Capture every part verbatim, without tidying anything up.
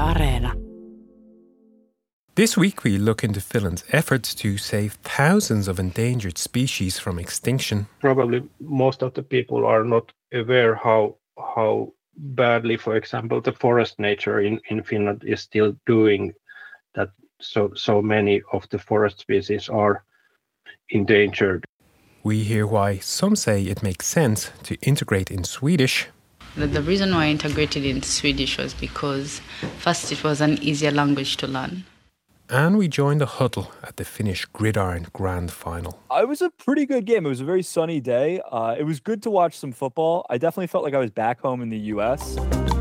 Areena. This week we look into Finland's efforts to save thousands of endangered species from extinction. Probably most of the people are not aware how how badly, for example, the forest nature in, in Finland is still doing that. So so many of the forest species are endangered. We hear why some say it makes sense to integrate in Swedish. The, the reason why I integrated in Swedish was because first it was an easier language to learn. And we joined the huddle at the Finnish Gridiron Grand Final. It was a pretty good game. It was a very sunny day. Uh, it was good to watch some football. I definitely felt like I was back home in the U S.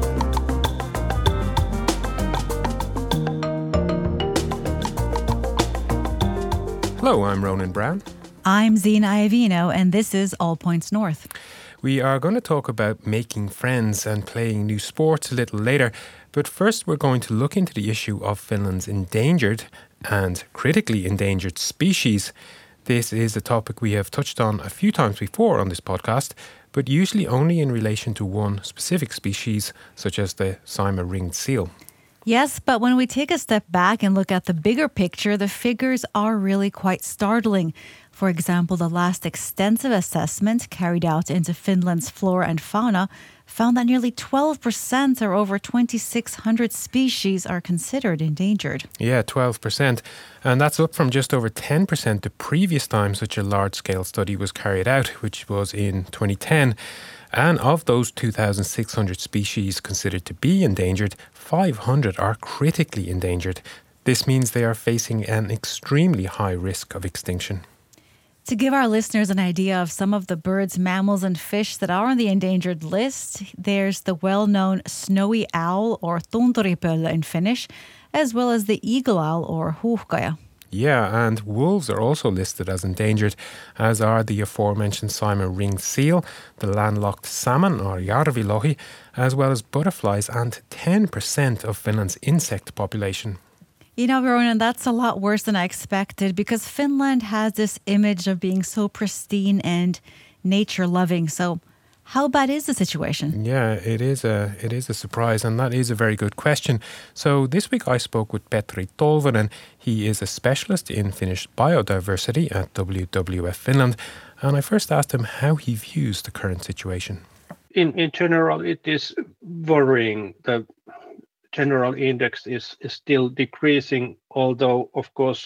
Hello, I'm Ronan Brown. I'm Zina Iovino, and this is All Points North. We are going to talk about making friends and playing new sports a little later, but first we're going to look into the issue of Finland's endangered and critically endangered species. This is a topic we have touched on a few times before on this podcast, but usually only in relation to one specific species, such as the Saimaa ringed seal. Yes, but when we take a step back and look at the bigger picture, the figures are really quite startling. For example, the last extensive assessment carried out into Finland's flora and fauna found that nearly twelve percent or over twenty-six hundred species are considered endangered. Yeah, twelve percent. And that's up from just over ten percent the previous time such a large-scale study was carried out, which was in twenty ten. And of those two thousand six hundred species considered to be endangered, five hundred are critically endangered. This means they are facing an extremely high risk of extinction. To give our listeners an idea of some of the birds, mammals, and fish that are on the endangered list, there's the well-known snowy owl, or tunturipöllö in Finnish, as well as the eagle owl, or huuhkaja. Yeah, and wolves are also listed as endangered, as are the aforementioned Saimaa ringed seal, the landlocked salmon, or järvilohi, as well as butterflies and ten percent of Finland's insect population. You know, Ronan, that's a lot worse than I expected because Finland has this image of being so pristine and nature-loving. So how bad is the situation? Yeah, it is a it is a surprise, and that is a very good question. So this week I spoke with Petri Tolvanen. He is a specialist in Finnish biodiversity at W W F Finland, and I first asked him how he views the current situation. In in general, it is worrying. The general index is, is still decreasing, although of course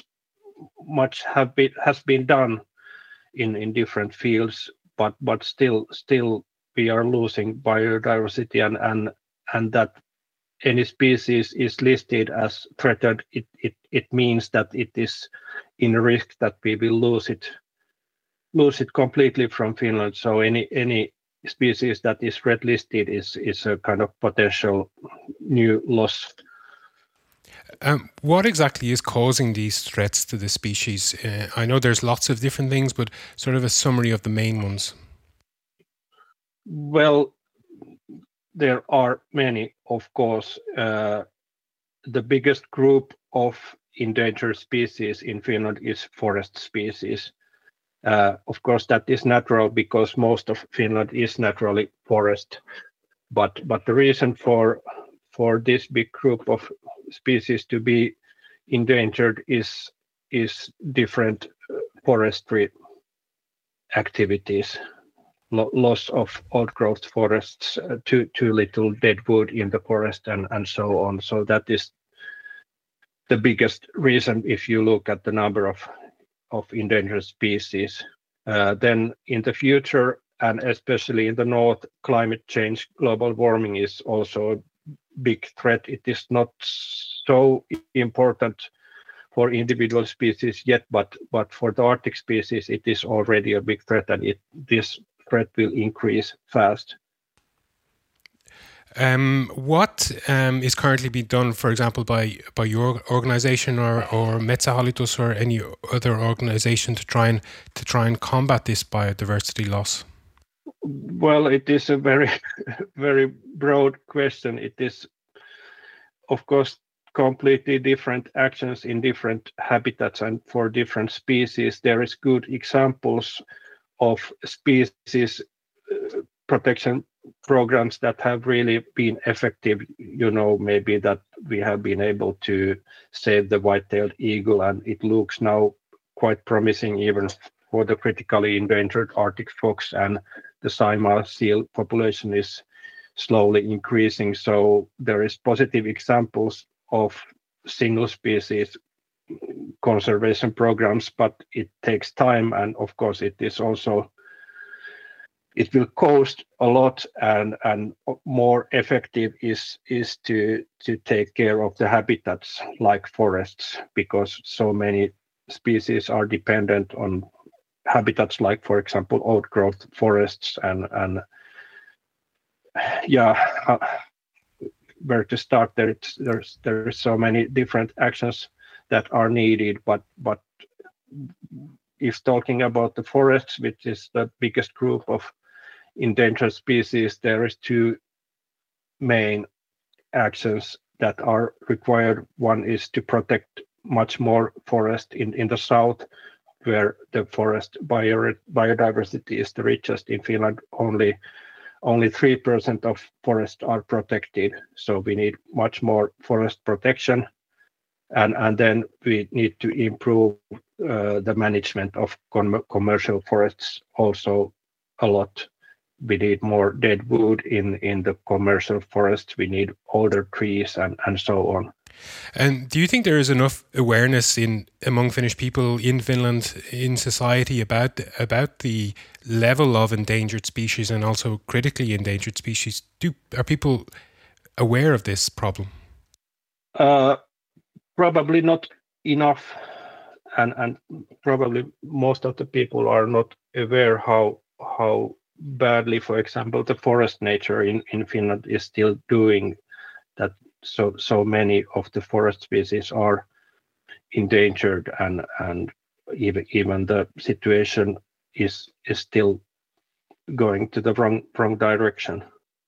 much have been has been done in, in different fields, but but still still we are losing biodiversity, and and, and that any species is listed as threatened, it, it it means that it is in risk that we will lose it lose it completely from Finland. So any any species that is red listed is is a kind of potential new loss. Um, what exactly is causing these threats to the species? Uh, I know there's lots of different things, but sort of a summary of the main ones. Well, there are many, of course. Uh, the biggest group of endangered species in Finland is forest species. Uh, of course, that is natural because most of Finland is naturally forest. But but the reason for for this big group of species to be endangered is is different forestry activities, Lo- loss of old growth forests, uh, too too little dead wood in the forest, and and so on. So that is the biggest reason if you look at the number of of endangered species. Uh, then in the future, and especially in the north, climate change, global warming is also a big threat. It is not so important for individual species yet, but but for the Arctic species, it is already a big threat, and it, this threat will increase fast. Um, what um, is currently being done, for example, by by your organisation or or Metsähallitus or any other organisation to try and to try and combat this biodiversity loss? Well, it is a very very broad question. It is, of course, completely different actions in different habitats and for different species. There is good examples of species protection programs that have really been effective. You know, maybe that we have been able to save the white-tailed eagle, and it looks now quite promising even for the critically endangered Arctic fox, and the Saimaa seal population is slowly increasing. So there is positive examples of single species conservation programs, but it takes time, and of course it is also it will cost a lot, and and more effective is is to to take care of the habitats like forests, because so many species are dependent on habitats like, for example, outgrowth forests, and and yeah uh, where to start there. It's, there's there's so many different actions that are needed, but but if talking about the forests, which is the biggest group of endangered species, there is two main actions that are required. One is to protect much more forest in in the south, where the forest bio, biodiversity is the richest. In Finland, only only three percent of forests are protected, so we need much more forest protection. And, and then we need to improve uh, the management of com- commercial forests also a lot. We need more dead wood in, in the commercial forests. We need older trees, and, and so on. And do you think there is enough awareness in among Finnish people in Finland, in society, about about the level of endangered species and also critically endangered species? Do are people aware of this problem? Uh, probably not enough, and and probably most of the people are not aware how how badly, for example, the forest nature in, in Finland is still doing that. So so many of the forest species are endangered, and and even even the situation is is still going to the wrong wrong direction.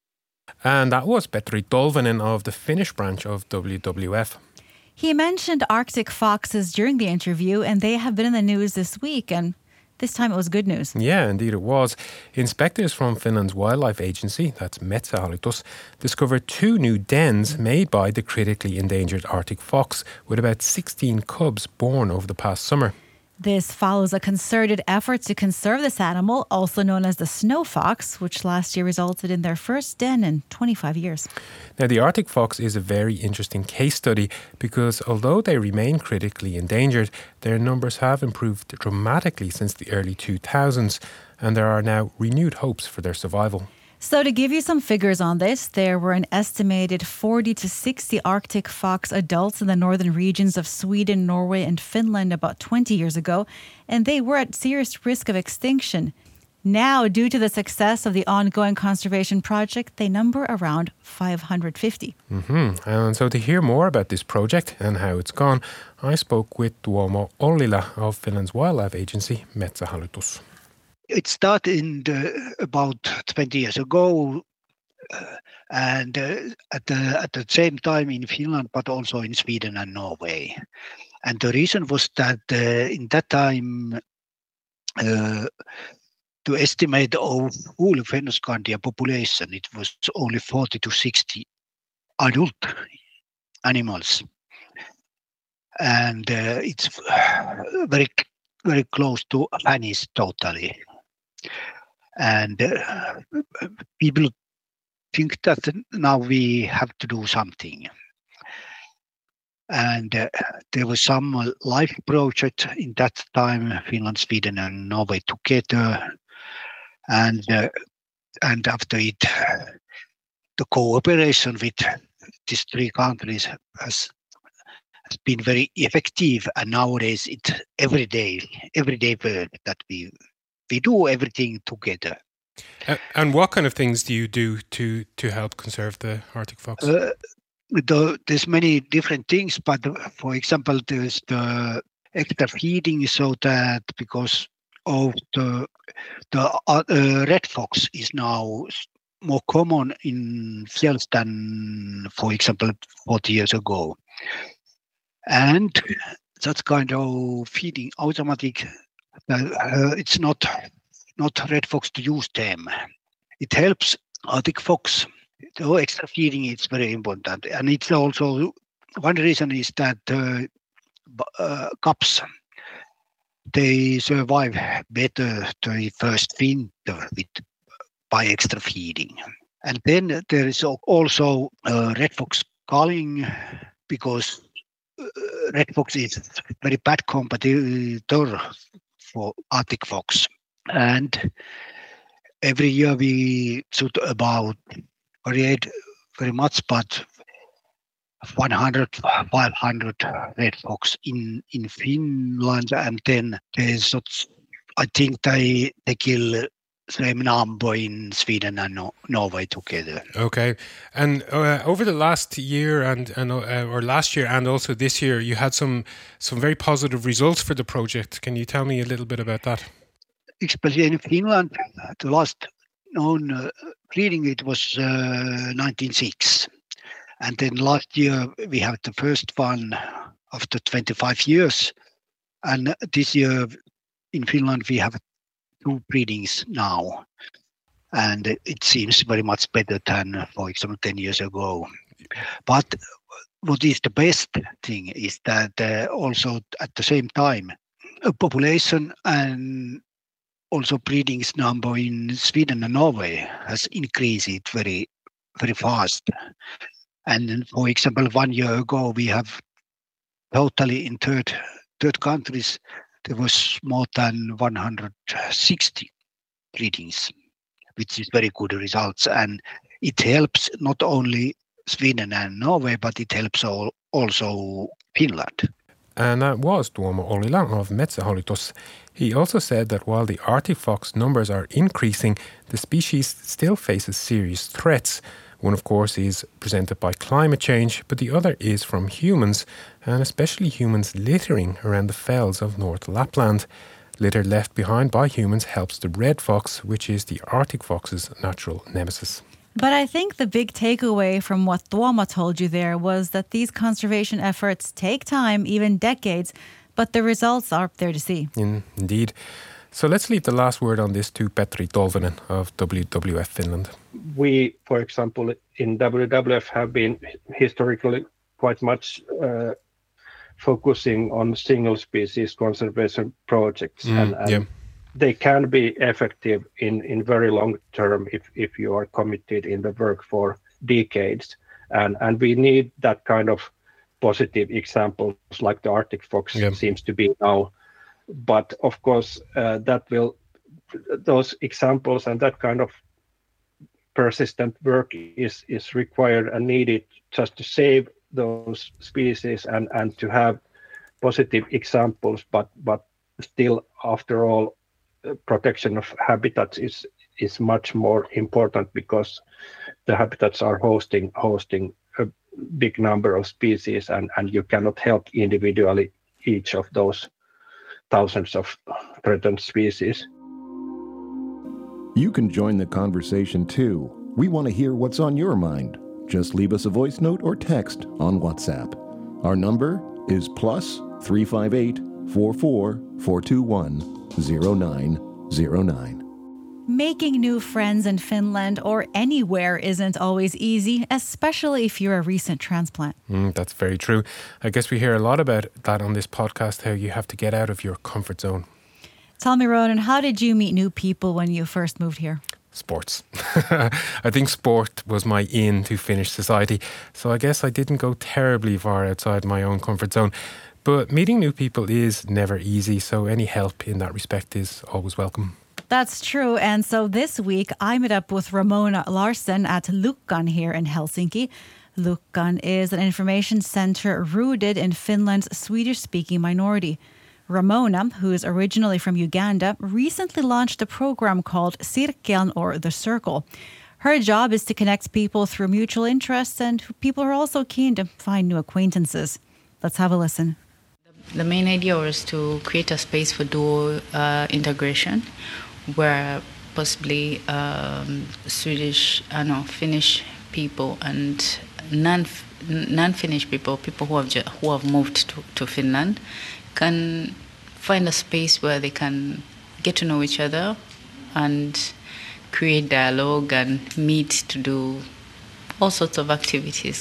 And that was Petri Tolvanen of the Finnish branch of W W F. He mentioned Arctic foxes during the interview, and they have been in the news this week, and this time it was good news. Yeah, indeed it was. Inspectors from Finland's wildlife agency, that's Metsähallitus, discovered two new dens made by the critically endangered Arctic fox, with about sixteen cubs born over the past summer. This follows a concerted effort to conserve this animal, also known as the snow fox, which last year resulted in their first den in twenty-five years. Now, the Arctic fox is a very interesting case study because although they remain critically endangered, their numbers have improved dramatically since the early two thousands, and there are now renewed hopes for their survival. So to give you some figures on this, there were an estimated forty to sixty Arctic fox adults in the northern regions of Sweden, Norway, and Finland about twenty years ago, and they were at serious risk of extinction. Now, due to the success of the ongoing conservation project, they number around five hundred fifty. Mm-hmm. And so to hear more about this project and how it's gone, I spoke with Tuomo Ollila of Finland's wildlife agency, Metsähallitus. It started in the, about twenty years ago, uh, and uh, at the at the same time in Finland, but also in Sweden and Norway. And the reason was that uh, in that time, uh, to estimate of whole Fennoscandia population, it was only forty to sixty adult animals, and uh, it's very very close to vanish totally. And uh, people think that now we have to do something. And uh, there was some life project in that time, Finland, Sweden, and Norway together. And uh, and after it, the cooperation with these three countries has, has been very effective. And nowadays, it's every day, everyday work that we we do everything together. Uh, and what kind of things do you do to to help conserve the Arctic fox? Uh, the, there's many different things, but for example, there's the extra feeding, so that because of the the uh, red fox is now more common in fjälls than, for example, forty years ago, and that kind of feeding automatic. Uh, it's not not red fox to use them. It helps Arctic fox. The extra feeding is very important, and it's also one reason is that uh, uh, cups, they survive better the first winter with by extra feeding. And then there is also uh, red fox culling, because uh, red fox is very bad competitor for Arctic fox. And every year we shoot about variate very much, but one hundred, five hundred red fox in, in Finland, and then there's, I think they they kill same number in Sweden and no- Norway together. Okay, and uh, over the last year and and uh, or last year and also this year, you had some some very positive results for the project. Can you tell me a little bit about that? Especially in Finland, the last known uh, breeding it was uh, nineteen oh six. And then last year we have the first one after twenty-five years. And this year in Finland we have two breedings now. And it seems very much better than, for example, ten years ago. But what is the best thing is that uh, also at the same time, a population and also breedings number in Sweden and Norway has increased very, very fast. And then, for example, one year ago, we have totally in third third countries, there was more than one hundred sixty breedings, which is very good results. And it helps not only Sweden and Norway, but it helps all, also Finland. And that was Tuomo Ollila of Metsähallitus. He also said that while the Arctic fox numbers are increasing, the species still faces serious threats. One, of course, is presented by climate change, but the other is from humans, and especially humans littering around the fells of North Lapland. Litter left behind by humans helps the red fox, which is the Arctic fox's natural nemesis. But I think the big takeaway from what Tuomo told you there was that these conservation efforts take time, even decades, but the results are there to see. In, indeed. So let's leave the last word on this to Petri Tolvanen of W W F Finland. We, for example, in W W F have been historically quite much uh, focusing on single species conservation projects, Mm, and, and yeah. they can be effective in, in very long term if, if you are committed in the work for decades. And, and we need that kind of positive examples like the Arctic fox Yeah. seems to be now. But of course, uh, that will, those examples and that kind of persistent work is, is required and needed just to save those species and, and to have positive examples. But, but still, after all, uh, protection of habitats is, is much more important because the habitats are hosting, hosting a big number of species, and, and you cannot help individually each of those thousands of threatened species. You can join the conversation too. We want to hear what's on your mind. Just leave us a voice note or text on WhatsApp. Our number is plus three five eight, four four, four two one, zero nine zero nine. Making new friends in Finland or anywhere isn't always easy, especially if you're a recent transplant. Mm, that's very true. I guess we hear a lot about that on this podcast, how you have to get out of your comfort zone. Tell me, Ronan, how did you meet new people when you first moved here? Sports. I think sport was my in to Finnish society, so I guess I didn't go terribly far outside my own comfort zone. But meeting new people is never easy, so any help in that respect is always welcome. That's true. And so this week, I met up with Ramona Larsen at Lukkan here in Helsinki. Lukkan is an information center rooted in Finland's Swedish-speaking minority. Ramona, who is originally from Uganda, recently launched a program called Cirkeln, or The Circle. Her job is to connect people through mutual interests, and people are also keen to find new acquaintances. Let's have a listen. The main idea was to create a space for dual uh, integration, where possibly um, Swedish, uh, no, Finnish people and non non-Finnish people, people who have ju- who have moved to, to Finland, can find a space where they can get to know each other and create dialogue and meet to do all sorts of activities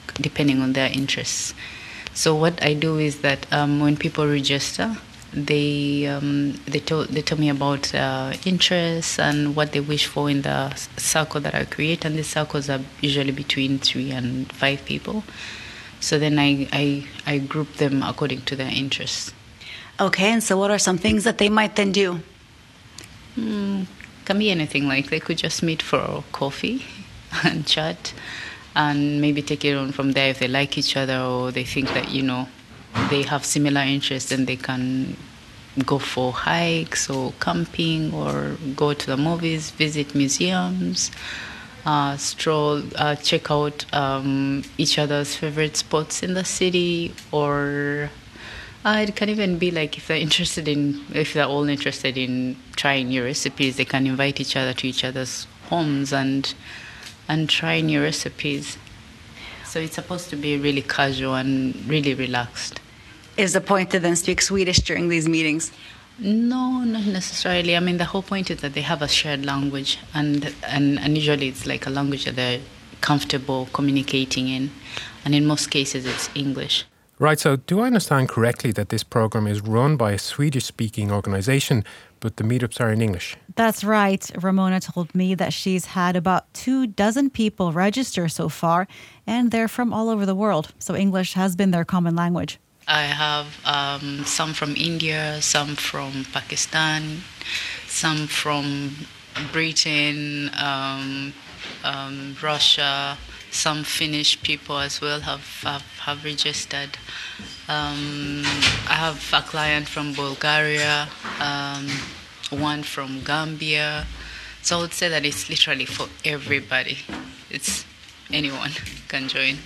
depending on their interests. So what I do is that um, when people register, they um, they tell they tell me about uh, interests and what they wish for in the circle that I create, and these circles are usually between three and five people. So then I I, I group them according to their interests. Okay, and so what are some things that they might then do? Mm, can be anything. Like they could just meet for coffee and chat, and maybe take it on from there if they like each other or they think that, you know, they have similar interests, and they can go for hikes or camping or go to the movies, visit museums, uh, stroll, uh, check out um, each other's favorite spots in the city, or uh, it can even be like if they're interested in, if they're all interested in trying new recipes, they can invite each other to each other's homes and and try new recipes. So it's supposed to be really casual and really relaxed. Is the point to then speak Swedish during these meetings? No, not necessarily. I mean, the whole point is that they have a shared language, and and, and usually it's like a language that they're comfortable communicating in, and in most cases it's English. Right, so do I understand correctly that this program is run by a Swedish-speaking organisation, but the meetups are in English? That's right. Ramona told me that she's had about two dozen people register so far, and they're from all over the world, so English has been their common language. I have um, some from India, some from Pakistan, some from Britain, um, um, Russia, some Finnish people as well have have, have registered. Um, I have a client from Bulgaria, um, one from Gambia. So I would say that it's literally for everybody. It's anyone can join.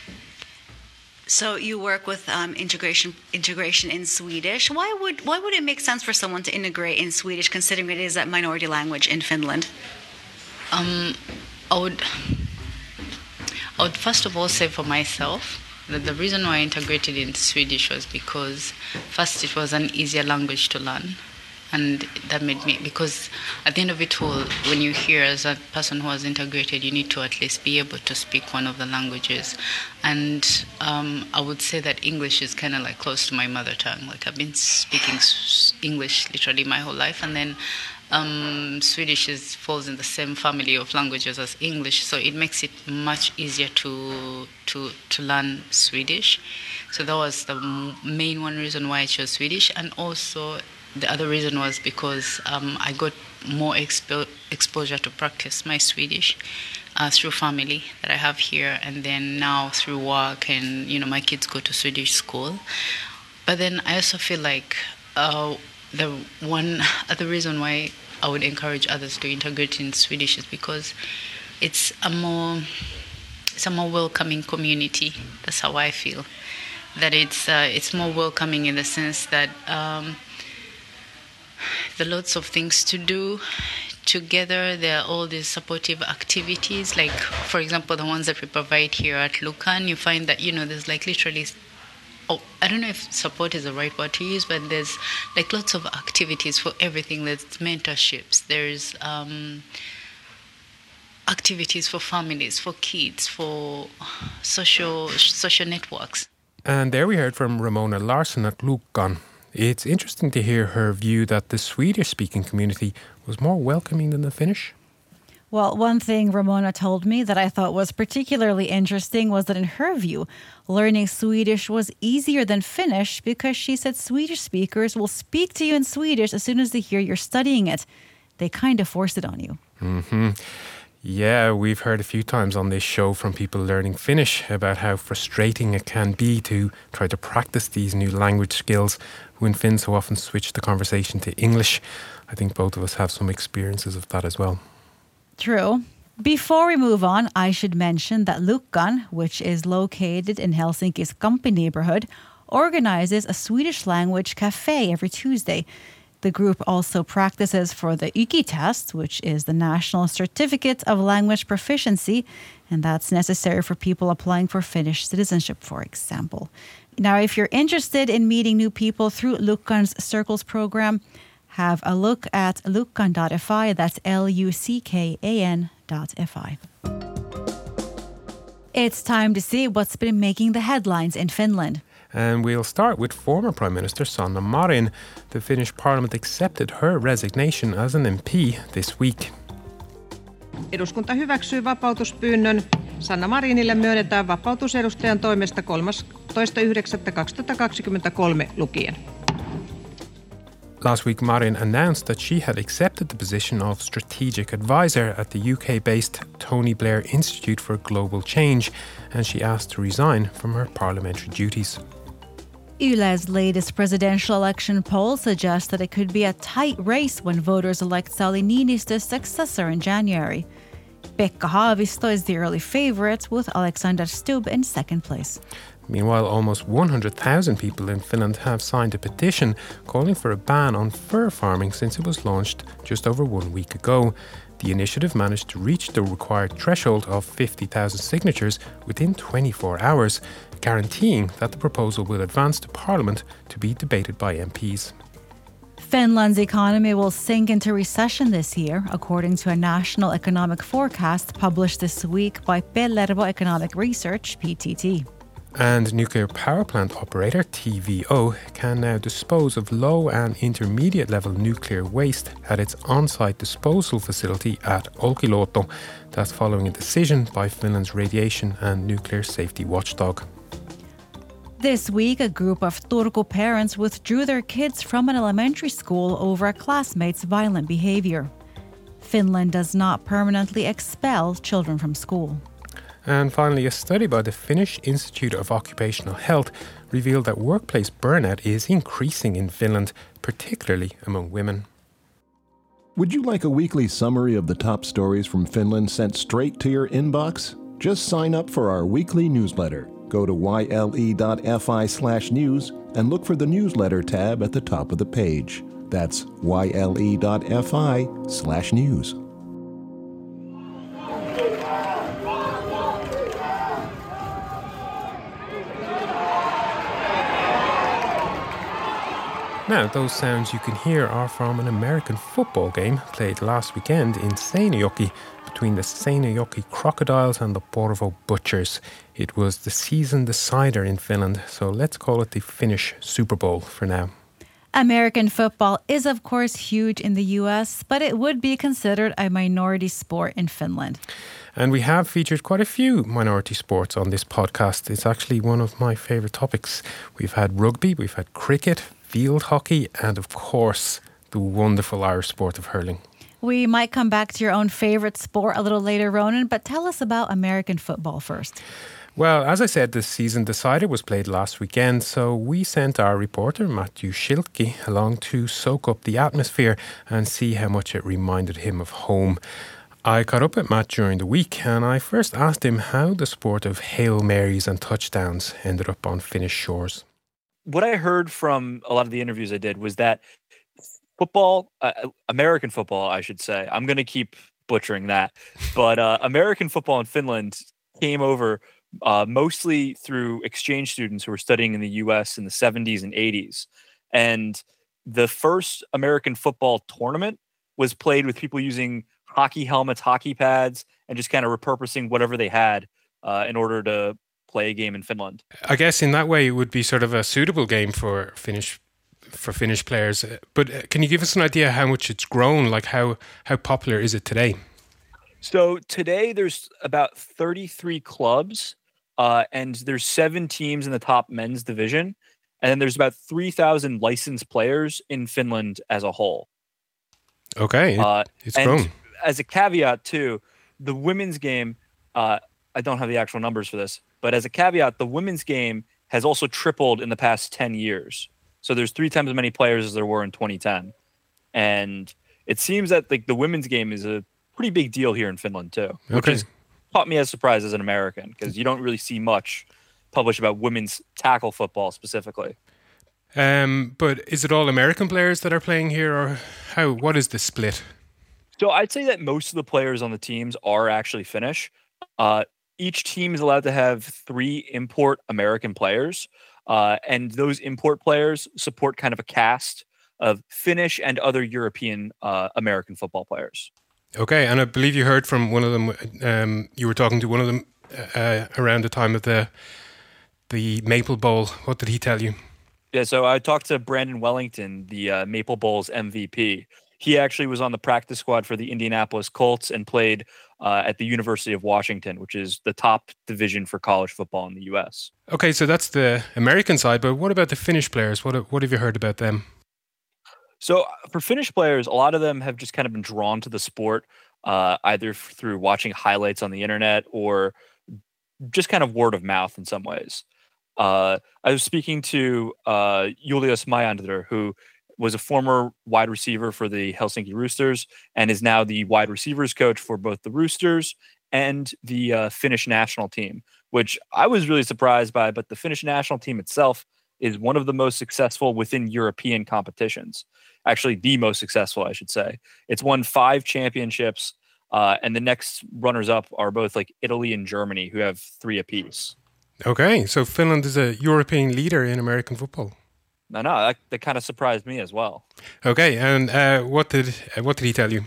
So you work with um, integration integration in Swedish. Why would why would it make sense for someone to integrate in Swedish, considering it is a minority language in Finland? Um, I would I would first of all say for myself that the reason why I integrated into Swedish was because first it was an easier language to learn. And that made me, because at the end of it all, when you're here as a person who has integrated, you need to at least be able to speak one of the languages. And um, I would say that English is kind of like close to my mother tongue. Like I've been speaking English literally my whole life. And then um, Swedish is, falls in the same family of languages as English. So it makes it much easier to, to, to learn Swedish. So that was the main one reason why I chose Swedish. And also, the other reason was because um, I got more expo- exposure to practice my Swedish uh, through family that I have here, and then now through work, and you know my kids go to Swedish school. But then I also feel like uh, the one other reason why I would encourage others to integrate in Swedish is because it's a more it's a more welcoming community. That's how I feel. That it's uh, it's more welcoming in the sense that. Um, There are lots of things to do together. There are all these supportive activities, like, for example, the ones that we provide here at Lucan. You find that, you know, there's like literally, oh, I don't know if support is the right word to use, but there's like lots of activities for everything. There's mentorships, there's um, activities for families, for kids, for social social networks. And there we heard from Ramona Larsson at Lucan. It's interesting to hear her view that the Swedish-speaking community was more welcoming than the Finnish. Well, one thing Ramona told me that I thought was particularly interesting was that in her view, learning Swedish was easier than Finnish because she said Swedish speakers will speak to you in Swedish as soon as they hear you're studying it. They kind of force it on you. Mm-hmm. Yeah, we've heard a few times on this show from people learning Finnish about how frustrating it can be to try to practice these new language skills when Finns so often switch the conversation to English. I think both of us have some experiences of that as well. True. Before we move on, I should mention that Lucan, which is located in Helsinki's Kamppi neighborhood, organizes a Swedish language cafe every Tuesday. The group also practices for the Y K I test, which is the National Certificate of Language Proficiency, and that's necessary for people applying for Finnish citizenship, for example. Now, if you're interested in meeting new people through Lucan's Circles program, have a look at lucan dot f i. That's L U C K A N dot F I. It's time to see what's been making the headlines in Finland. And we'll start with former Prime Minister Sanna Marin. The Finnish Parliament accepted her resignation as an M P this week. Eduskunta hyväksyy vapautuspyynnön. Sanna Marinille myönnetään vapautus edustajan toimesta kolmastoista yhdeksättä kaksituhattakaksikymmentäkolme lukien. Last week, Marin announced that she had accepted the position of strategic advisor at the U K-based Tony Blair Institute for Global Change, and she asked to resign from her parliamentary duties. Yle's latest presidential election poll suggests that it could be a tight race when voters elect Sauli Niinistö's successor in January. Pekka Haavisto is the early favourite, with Alexander Stubb in second place. Meanwhile, almost one hundred thousand people in Finland have signed a petition calling for a ban on fur farming since it was launched just over one week ago. The initiative managed to reach the required threshold of fifty thousand signatures within twenty-four hours, guaranteeing that the proposal will advance to Parliament to be debated by M Ps. Finland's economy will sink into recession this year, according to a national economic forecast published this week by Pellervo Economic Research, P T T. And nuclear power plant operator T V O can now dispose of low and intermediate level nuclear waste at its on-site disposal facility at Olkiluoto. That's following a decision by Finland's radiation and nuclear safety watchdog. This week, a group of Turku parents withdrew their kids from an elementary school over a classmate's violent behavior. Finland does not permanently expel children from school. And finally, a study by the Finnish Institute of Occupational Health revealed that workplace burnout is increasing in Finland, particularly among women. Would you like a weekly summary of the top stories from Finland sent straight to your inbox? Just sign up for our weekly newsletter. Go to yle.fi slash news and look for the newsletter tab at the top of the page. That's yle.fi slash news. Now, those sounds you can hear are from an American football game played last weekend in Seinäjoki between the Seinäjoki Crocodiles and the Porvoo Butchers. It was the season decider in Finland, so let's call it the Finnish Super Bowl for now. American football is, of course, huge in the U S, but it would be considered a minority sport in Finland. And we have featured quite a few minority sports on this podcast. It's actually one of my favourite topics. We've had rugby, we've had cricket, field hockey, and of course, the wonderful Irish sport of hurling. We might come back to your own favourite sport a little later, Ronan, but tell us about American football first. Well, as I said, the season decider was played last weekend, so we sent our reporter, Matthew Schilke, along to soak up the atmosphere and see how much it reminded him of home. I caught up with Matt during the week, and I first asked him how the sport of Hail Marys and touchdowns ended up on Finnish shores. What I heard from a lot of the interviews I did was that football, uh, American football, I should say, I'm going to keep butchering that, but uh, American football in Finland came over uh, mostly through exchange students who were studying in the U S in the seventies and eighties. And the first American football tournament was played with people using hockey helmets, hockey pads, and just kind of repurposing whatever they had uh, in order to play a game in Finland. I guess in that way it would be sort of a suitable game for Finnish for Finnish players. But can you give us an idea how much it's grown? Like how how popular is it today? So today there's about thirty-three clubs, uh, and there's seven teams in the top men's division, and then there's about three thousand licensed players in Finland as a whole. Okay, uh, it's and grown. As a caveat too, the women's game, uh, I don't have the actual numbers for this, but as a caveat, the women's game has also tripled in the past ten years. So there's three times as many players as there were in twenty ten. And it seems that like the women's game is a pretty big deal here in Finland too, which okay. has caught me as surprised as an American, because you don't really see much published about women's tackle football specifically. Um, but is it all American players that are playing here, or how? What is the split? So I'd say that most of the players on the teams are actually Finnish. Uh, each team is allowed to have three import American players, uh, and those import players support kind of a cast of Finnish and other European uh, American football players. Okay, and I believe you heard from one of them, um, you were talking to one of them uh, around the time of the the Maple Bowl. What did he tell you? Yeah, so I talked to Brandon Wellington, the uh, Maple Bowl's M V P. He actually was on the practice squad for the Indianapolis Colts and played uh, at the University of Washington, which is the top division for college football in the U S. Okay, so that's the American side, but what about the Finnish players? What what have you heard about them? So for Finnish players, a lot of them have just kind of been drawn to the sport, uh, either through watching highlights on the internet or just kind of word of mouth in some ways. Uh, I was speaking to uh, Julius Majander, who was a former wide receiver for the Helsinki Roosters and is now the wide receivers coach for both the Roosters and the uh, Finnish national team, which I was really surprised by. But the Finnish national team itself is one of the most successful within European competitions. Actually, the most successful, I should say. It's won five championships, uh, and the next runners-up are both like Italy and Germany, who have three apiece. Okay, so Finland is a European leader in American football. No, no, that, that kind of surprised me as well. Okay, and uh, what did uh, what did he tell you?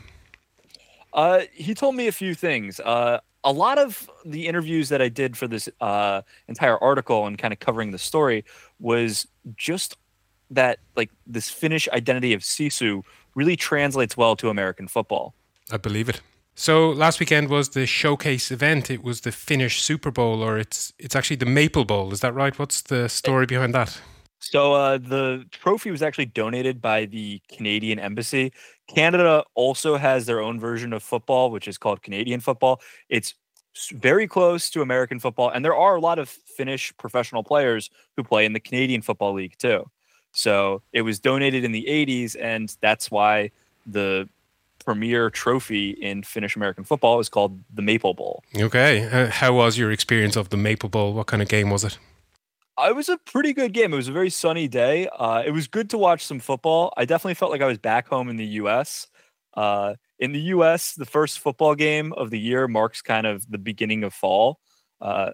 Uh, he told me a few things. Uh, a lot of the interviews that I did for this uh, entire article and kind of covering the story was just that, like, this Finnish identity of Sisu really translates well to American football. I believe it. So last weekend was the showcase event. It was the Finnish Super Bowl, or it's it's actually the Maple Bowl. Is that right? What's the story behind that? So uh, the trophy was actually donated by the Canadian Embassy. Canada also has their own version of football, which is called Canadian football. It's very close to American football, and there are a lot of Finnish professional players who play in the Canadian Football League too. So it was donated in the eighties, and that's why the premier trophy in Finnish American football is called the Maple Bowl. Okay. Uh, how was your experience of the Maple Bowl? What kind of game was it? It was a pretty good game. It was a very sunny day. Uh, it was good to watch some football. I definitely felt like I was back home in the U S. Uh, in the U S, the first football game of the year marks kind of the beginning of fall. Uh,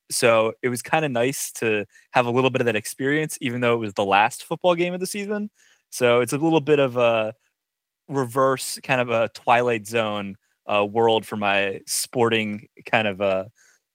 so it was kind of nice to have a little bit of that experience, even though it was the last football game of the season. So it's a little bit of a reverse kind of a Twilight Zone uh, world for my sporting kind of a,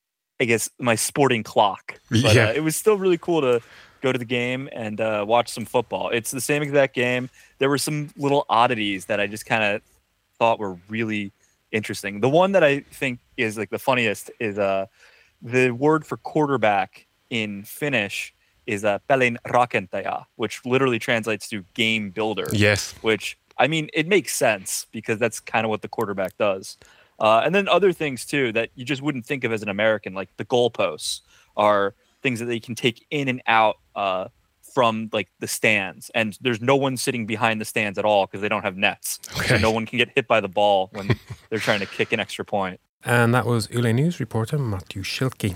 I guess, my sporting clock. But yeah. uh, it was still really cool to go to the game and uh, watch some football. It's the same exact game. There were some little oddities that I just kind of thought were really interesting. The one that I think is like the funniest is uh, the word for quarterback in Finnish is uh, pelin rakentaja, which literally translates to game builder. Yes. Which, I mean, it makes sense because that's kind of what the quarterback does. Uh, and then other things, too, that you just wouldn't think of as an American, like the goalposts are things that they can take in and out uh, from, like, the stands. And there's no one sitting behind the stands at all because they don't have nets. Okay. So no one can get hit by the ball when they're trying to kick an extra point. And that was Yle News reporter Matthew Schilke.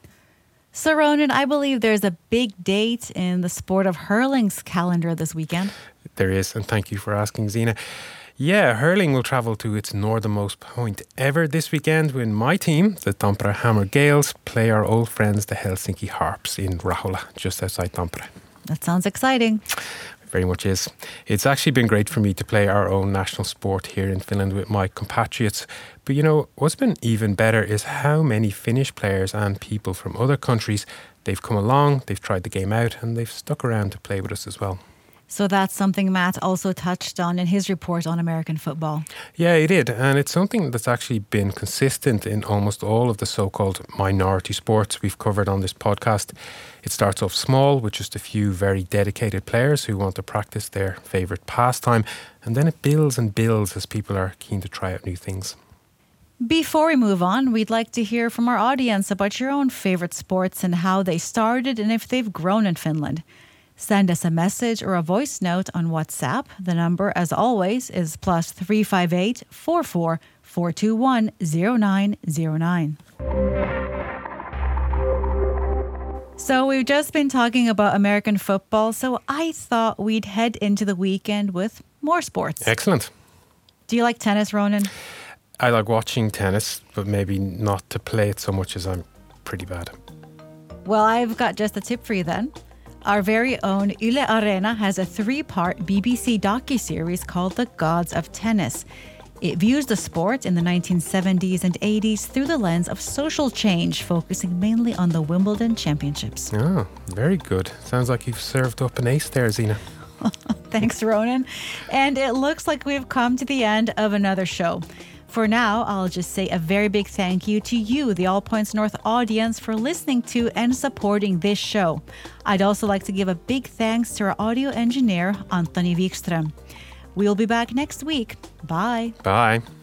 So, Ronan, I believe there's a big date in the sport of hurling's calendar this weekend. There is, and thank you for asking, Zina. Yeah, hurling will travel to its northernmost point ever this weekend when my team, the Tampere Hammer Gales, play our old friends, the Helsinki Harps, in Rahola, just outside Tampere. That sounds exciting. It very much is. It's actually been great for me to play our own national sport here in Finland with my compatriots. But you know, what's been even better is how many Finnish players and people from other countries, they've come along, they've tried the game out, and they've stuck around to play with us as well. So that's something Matt also touched on in his report on American football. Yeah, he did. And it's something that's actually been consistent in almost all of the so-called minority sports we've covered on this podcast. It starts off small with just a few very dedicated players who want to practice their favourite pastime. And then it builds and builds as people are keen to try out new things. Before we move on, we'd like to hear from our audience about your own favourite sports and how they started and if they've grown in Finland. Send us a message or a voice note on WhatsApp. The number, as always, is plus three five eight, four four, four two one, zero nine zero nine. So we've just been talking about American football, so I thought we'd head into the weekend with more sports. Excellent. Do you like tennis, Ronan? I like watching tennis, but maybe not to play it so much as I'm pretty bad. Well, I've got just a tip for you then. Our very own Yle Areena has a three-part B B C docuseries called The Gods of Tennis. It views the sport in the nineteen seventies and eighties through the lens of social change, focusing mainly on the Wimbledon Championships. Oh, very good. Sounds like you've served up an ace there, Zina. Thanks, Ronan. And it looks like we've come to the end of another show. For now, I'll just say a very big thank you to you, the All Points North audience, for listening to and supporting this show. I'd also like to give a big thanks to our audio engineer, Antoni Wikström. We'll be back next week. Bye. Bye.